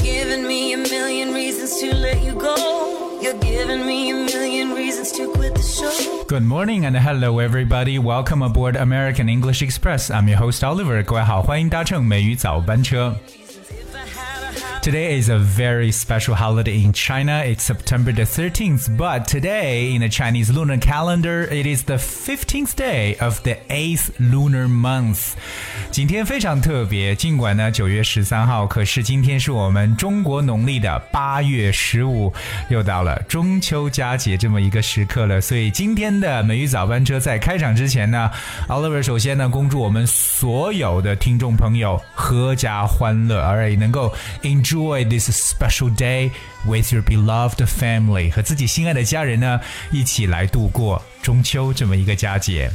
giving me a million reasons to let you go. You're giving me a million reasons to quit the show. Good morning and hello everybody. Welcome aboard American English Express. I'm your host Oliver. 各位好，欢迎搭乘美语早班车。Today is a very special holiday in China. It's September the 13th, but today in the Chinese lunar calendar, it is the 15th day of the 8th lunar month. 今天非常特别，尽管呢9月13号，可是今天是我们中国农历的8月15，又到了中秋佳节这么一个时刻了。所以今天的美语早班车在开场之前呢 ，Oliver 首先呢恭祝我们所有的听众朋友阖家欢乐，而也能够 enjoy this special day with your beloved family， 和自己心爱的家人呢一起来度过中秋这么一个佳节。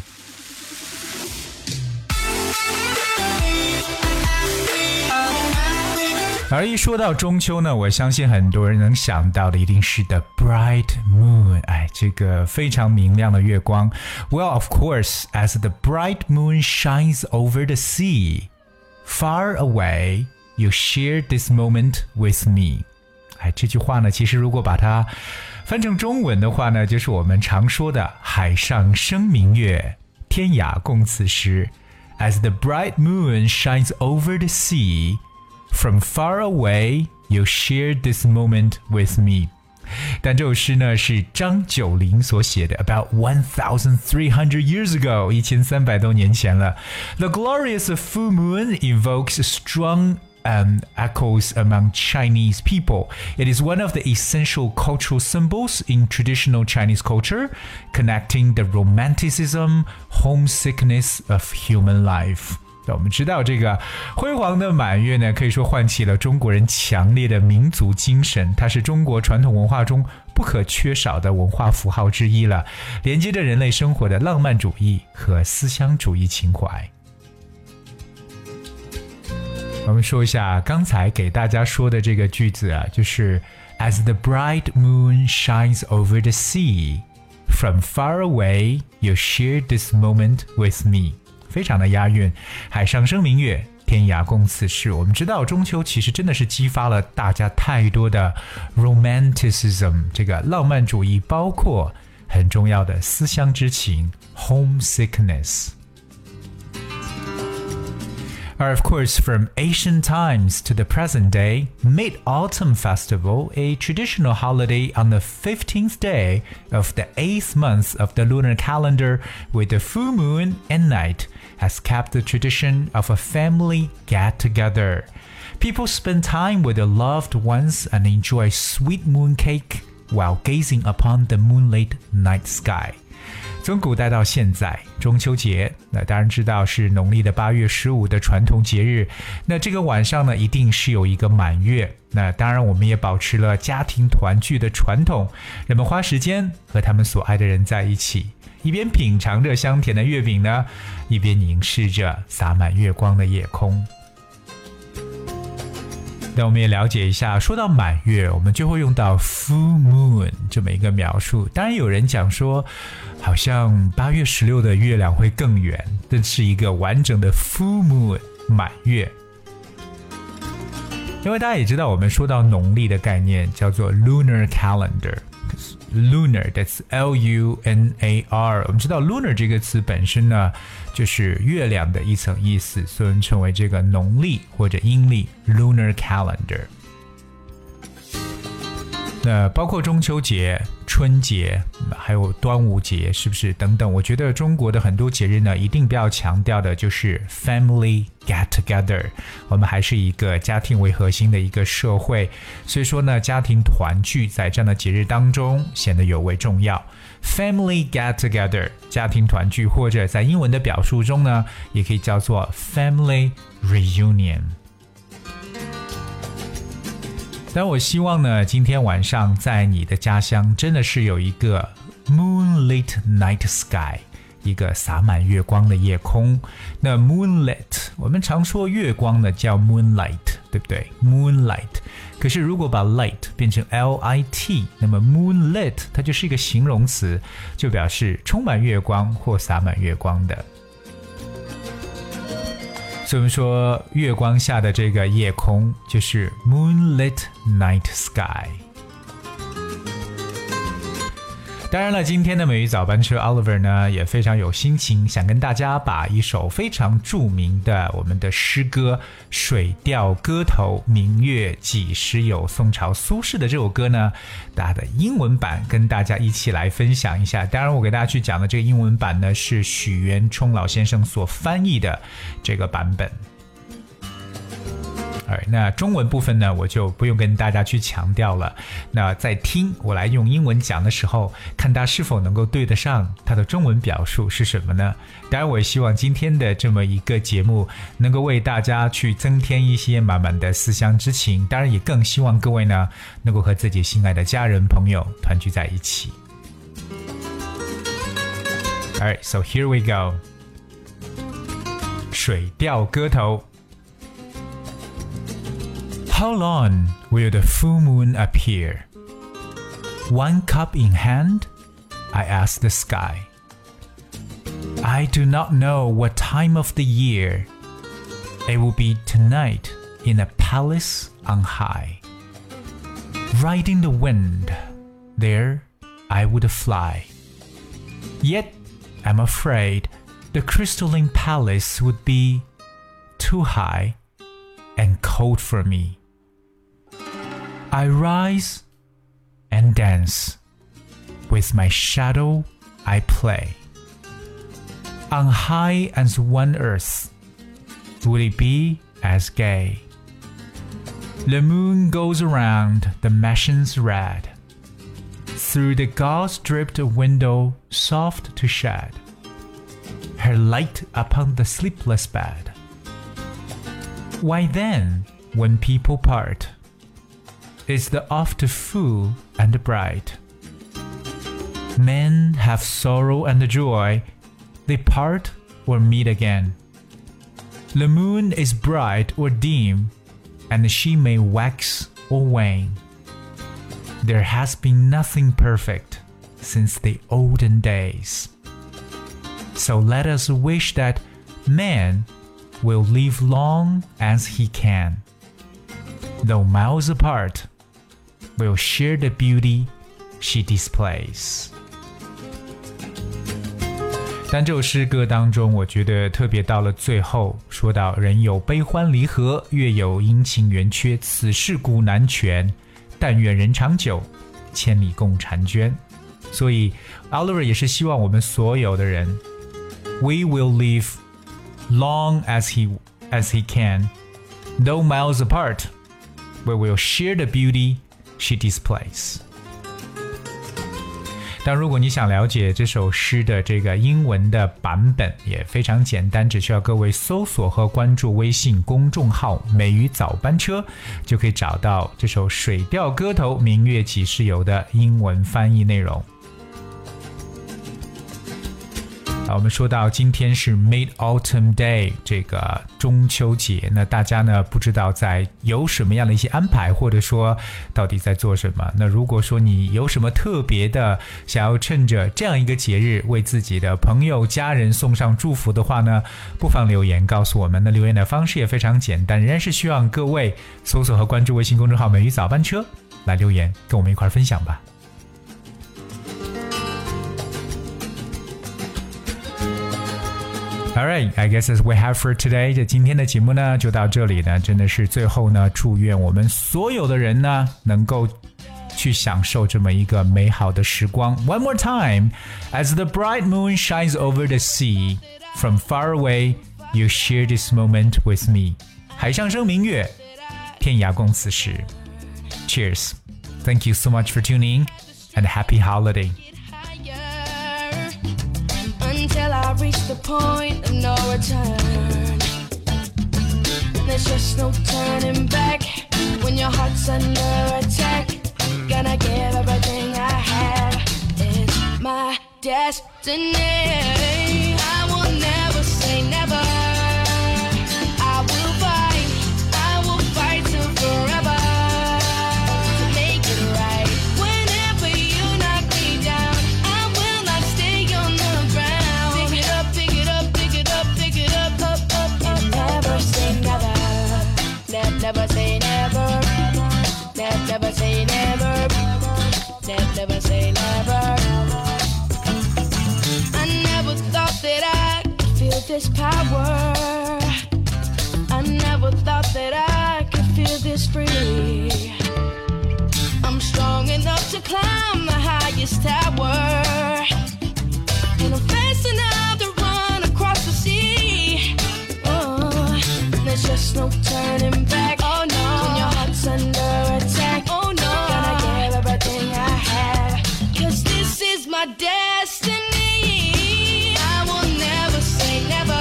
而一说到中秋呢，我相信很多人能想到的一定是 the bright moon， 这个非常明亮的月光。Well, of course, as the bright moon shines over the sea, far away, you share this moment with me. 这句话呢，其实如果把它翻成中文的话呢，就是我们常说的海上生明月，天涯共此时。As the bright moon shines over the sea,From far away, you shared this moment with me. 但这首诗呢是张九龄所写的 about 1,300 years ago, 1300多年前了。The glorious full moon evokes strong echoes among Chinese people. It is one of the essential cultural symbols in traditional Chinese culture, connecting the romanticism, homesickness of human life.我们知道这个辉煌的满月呢，可以说唤起了中国人强烈的民族精神，它是中国传统文化中不可缺少的文化符号之一了，连接着人类生活的浪漫主义和思乡主义情怀。我们说一下刚才给大家说的这个句子啊，就是 As the bright moon shines over the sea, from far away, you share this moment with me.非常的押韵，海上生明月，天涯共此时。我们知道中秋其实真的是激发了大家太多的 romanticism， 这个浪漫主义，包括很重要的思乡之情 homesickness。Of course, from ancient times to the present day, Mid-Autumn Festival, a traditional holiday on the 15th day of the 8th month of the lunar calendar with the full moon and night, has kept the tradition of a family get-together. People spend time with their loved ones and enjoy sweet moon cake while gazing upon the moonlit night sky.从古代到现在，中秋节那当然知道是农历的8月15的传统节日。那这个晚上呢，一定是有一个满月。那当然，我们也保持了家庭团聚的传统，人们花时间和他们所爱的人在一起，一边品尝着香甜的月饼呢，一边凝视着洒满月光的夜空。那我们也了解一下，说到满月，我们就会用到 full moon 这么一个描述。当然有人讲说，好像8月16的月亮会更圆，这是一个完整的 full moon 满月。因为大家也知道，我们说到农历的概念叫做 lunar calendar。Lunar, that's L-U-N-A-R. 我们知道 lunar 这个词本身呢，就是月亮的一层意思，所以我们称为这个农历或者阴历 lunar calendar。那包括中秋节、春节，还有端午节，是不是等等？我觉得中国的很多节日呢，一定不要强调的就是 family get together。我们还是一个家庭为核心的一个社会，所以说呢，家庭团聚在这样的节日当中显得尤为重要。Family get together， 家庭团聚，或者在英文的表述中呢，也可以叫做 family reunion。但我希望呢，今天晚上在你的家乡真的是有一个 moonlit night sky， 一个洒满月光的夜空。那 moonlit， 我们常说月光呢叫 moonlight， 对不对 ？moonlight。可是如果把 light 变成 L-I-T， 那么 moonlit 它就是一个形容词，就表示充满月光或洒满月光的。 所以我们说月光下的这个夜空就是 moonlit night sky。当然了，今天的美语早班车 Oliver 呢也非常有心情，想跟大家把一首非常著名的我们的诗歌《水调歌头·明月几时有》宋朝苏轼的这首歌呢，它的英文版跟大家一起来分享一下。当然我给大家去讲的这个英文版呢是许渊冲老先生所翻译的这个版本。那中文部分呢我就不用跟大家去强调了，那在听我来用英文讲的时候，看他是否能够对得上他的中文表述是什么呢？当然我也希望今天的这么一个节目能够为大家去增添一些满满的思乡之情，当然也更希望各位呢能够和自己心爱的家人朋友团聚在一起。 Alright, so here we go. 水调歌头。How long will the full moon appear? One cup in hand, I asked the sky. I do not know what time of the year. It will be tonight in a palace on high. Riding the wind, there I would fly. Yet I'm afraid the crystalline palace would be too high and cold for me.I rise and dance. With my shadow I play. On high as one earth, will it be as gay? The moon goes around the mansions red. Through the gauze-dripped window soft to shed her light upon the sleepless bed. Why then, when people part,Is the oft full and bright. Men have sorrow and joy, they part or meet again. The moon is bright or dim, and she may wax or wane. There has been nothing perfect since the olden days. So let us wish that man will live long as he can, though miles apart,will share the beauty she displays. 但这首诗歌当中，我觉得特别到了最后，说到人有悲欢离合，月有阴晴圆缺，此事古难全。但愿人长久，千里共婵娟。所以 Oliver 也是希望我们所有的人 We will live long as he can, though miles apart, we will share the beauty she displays. 但如果你想了解这首诗的这个英文的版本，也非常简单，只需要各位搜索和关注微信公众号美语早班车，就可以找到这首水调歌头明月几时有的英文翻译内容。我们说到今天是 Mid-Autumn Day 这个中秋节，那大家呢不知道在有什么样的一些安排，或者说到底在做什么。那如果说你有什么特别的想要趁着这样一个节日为自己的朋友家人送上祝福的话呢，不妨留言告诉我们。那留言的方式也非常简单，仍然是希望各位搜索和关注微信公众号美语早班车来留言跟我们一块分享吧。Alright, I guess as we have for today. 这今天的节目呢就到这里呢，真的是最后呢，祝愿我们所有的人呢能够去享受这么一个美好的时光。One more time, as the bright moon shines over the sea, from far away, you share this moment with me. 海上生明月，天涯共此时。Cheers. Thank you so much for tuning in, and happy holiday.Until I reach the point of no return. There's just no turning back when your heart's under attack. Gonna give everything I have. It's my destiny. I will never say never. I will fight till forever to make it right. Whenever you knock me down, I will not stay on the ground.Never this power. I never thought that I could feel this free. I'm strong enough to climb the highest tower, and I'm fast enough to run across the sea. Oh, there's just no turning back. Oh no, when your heart's under attack. Oh no, gonna give everything I have, 'cause this is my destiny. I will never say never.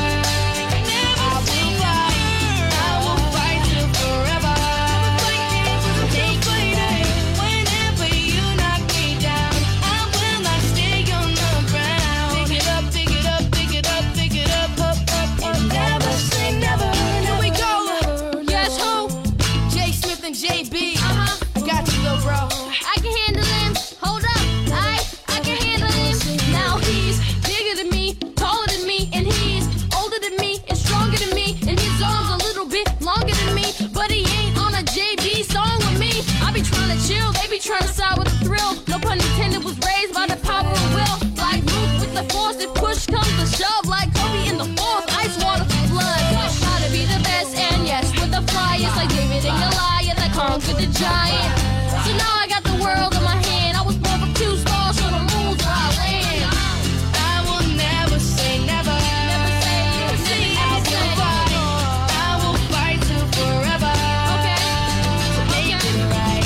Trying to side with the thrill, no pun intended, was raised by the power of will. Like Luke with the force, if push comes to shove, like Kobe in the fourth, ice water for blood. Try to be the best, and yes, with the flyers, like David and Goliath, I conquered the giant. So now I got the world in my hand. I was born from 2 stars, so the moon's where I land. I will never say never. Never say never. I will fight till forever. Okay. So make it right.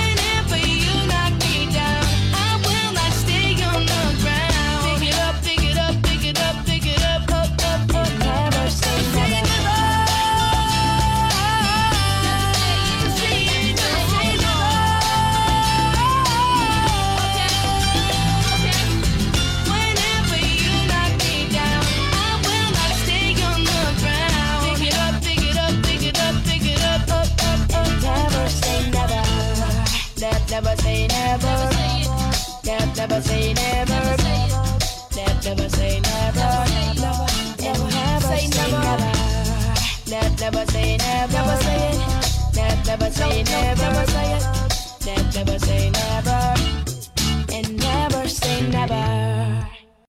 Never say never. Never say never. Never say never. Never say never. Never say never. Never say it. Never say never. Never say never.